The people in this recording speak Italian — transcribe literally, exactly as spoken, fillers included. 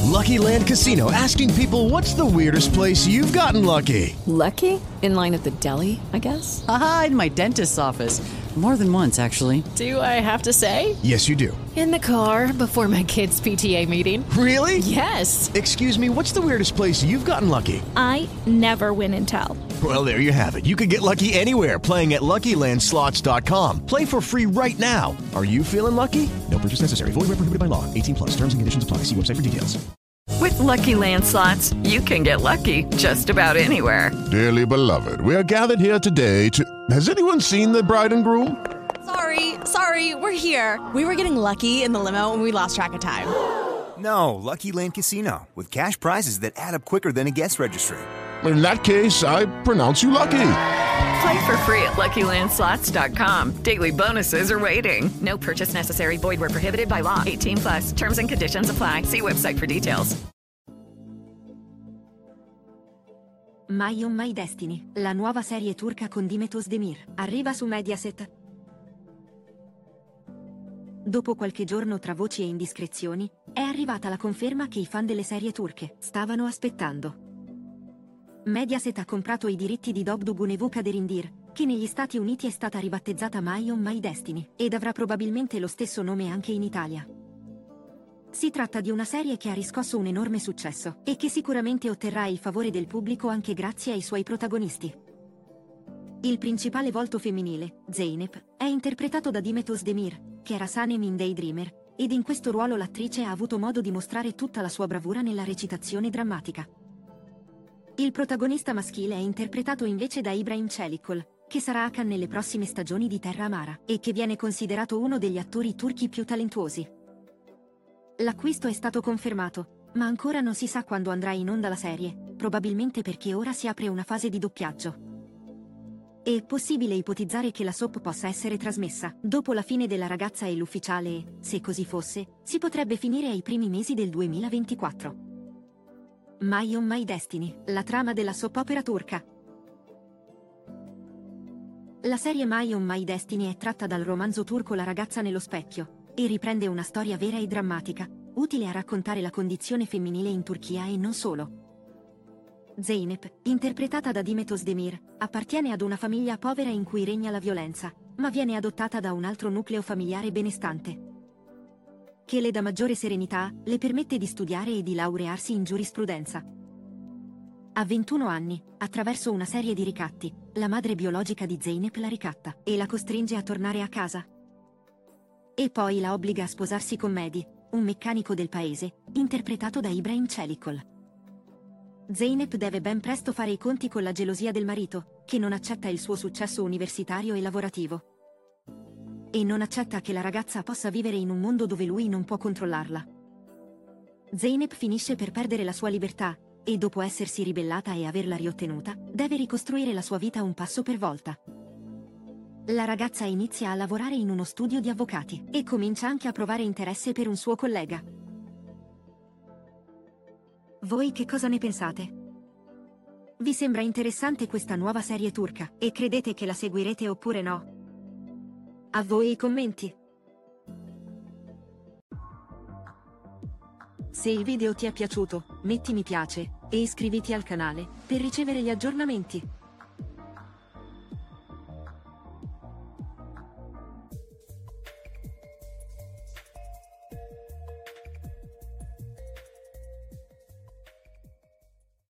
Lucky Land Casino, asking people, what's the weirdest place you've gotten lucky? Lucky? In line at the deli, I guess? Aha, in my dentist's office. More than once, actually. Do I have to say? Yes, you do. In the car before my kids' P T A meeting. Really? Yes. Excuse me, what's the weirdest place you've gotten lucky? I never win and tell. Well, there you have it. You can get lucky anywhere, playing at Lucky Land Slots dot com. Play for free right now. Are you feeling lucky? No purchase necessary. Void where prohibited by law. eighteen plus. Terms and conditions apply. See website for details. With Lucky Land Slots, you can get lucky just about anywhere. Dearly beloved, we are gathered here today to... Has anyone seen the bride and groom? Sorry, sorry, we're here. We were getting lucky in the limo and we lost track of time. No, Lucky Land Casino, with cash prizes that add up quicker than a guest registry. In that case, I pronounce you lucky. Play for free at Lucky Land Slots dot com. Daily bonuses are waiting. No purchase necessary. Void where prohibited by law. eighteen plus. Terms and conditions apply. See website for details. My on My Destiny, la nuova serie turca con Demet Özdemir, arriva su Mediaset. Dopo qualche giorno tra voci e indiscrezioni, è arrivata la conferma che i fan delle serie turche stavano aspettando. Mediaset ha comprato i diritti di Dobdugune e Vukaderimdir, che negli Stati Uniti è stata ribattezzata My on My Destiny, ed avrà probabilmente lo stesso nome anche in Italia. Si tratta di una serie che ha riscosso un enorme successo, e che sicuramente otterrà il favore del pubblico anche grazie ai suoi protagonisti. Il principale volto femminile, Zeynep, è interpretato da Demet Özdemir, che era Sanem in Daydreamer, ed in questo ruolo l'attrice ha avuto modo di mostrare tutta la sua bravura nella recitazione drammatica. Il protagonista maschile è interpretato invece da Ibrahim Çelikol, che sarà Hakan nelle prossime stagioni di Terra Amara, e che viene considerato uno degli attori turchi più talentuosi. L'acquisto è stato confermato, ma ancora non si sa quando andrà in onda la serie, probabilmente perché ora si apre una fase di doppiaggio. È possibile ipotizzare che la soap possa essere trasmessa dopo la fine della Ragazza e l'Ufficiale e, se così fosse, si potrebbe finire ai primi mesi del duemilaventiquattro. My on My Destiny, la trama della soap opera turca. La serie My on My Destiny è tratta dal romanzo turco La ragazza nello specchio, e riprende una storia vera e drammatica, utile a raccontare la condizione femminile in Turchia e non solo. Zeynep, interpretata da Demet Özdemir, appartiene ad una famiglia povera in cui regna la violenza, ma viene adottata da un altro nucleo familiare benestante, che le dà maggiore serenità, le permette di studiare e di laurearsi in giurisprudenza. A ventuno anni, attraverso una serie di ricatti, la madre biologica di Zeynep la ricatta e la costringe a tornare a casa. E poi la obbliga a sposarsi con Mehdi, un meccanico del paese, interpretato da Ibrahim Çelikol. Zeynep deve ben presto fare i conti con la gelosia del marito, che non accetta il suo successo universitario e lavorativo. E non accetta che la ragazza possa vivere in un mondo dove lui non può controllarla. Zeynep finisce per perdere la sua libertà, e dopo essersi ribellata e averla riottenuta, deve ricostruire la sua vita un passo per volta. La ragazza inizia a lavorare in uno studio di avvocati, e comincia anche a provare interesse per un suo collega. Voi che cosa ne pensate? Vi sembra interessante questa nuova serie turca, e credete che la seguirete oppure no? A voi i commenti! Se il video ti è piaciuto, metti mi piace, e iscriviti al canale, per ricevere gli aggiornamenti.